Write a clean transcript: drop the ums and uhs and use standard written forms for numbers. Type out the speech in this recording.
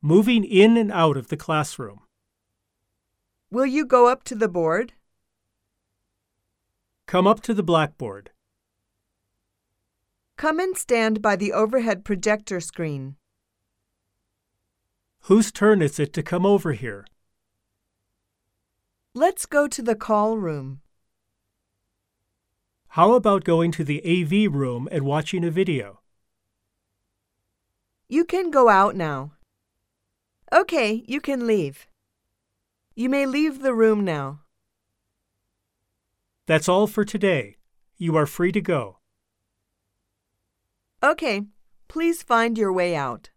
moving in and out of the classroom. Will you go up to the board? Come up to the blackboard. Come and stand by the overhead projector screen. Whose turn is it to come over here? Let's go to the call room. How about going to the AV room and watching a video? You can go out now. Okay, you can leave. You may leave the room now. That's all for today. You are free to go. Okay, please find your way out.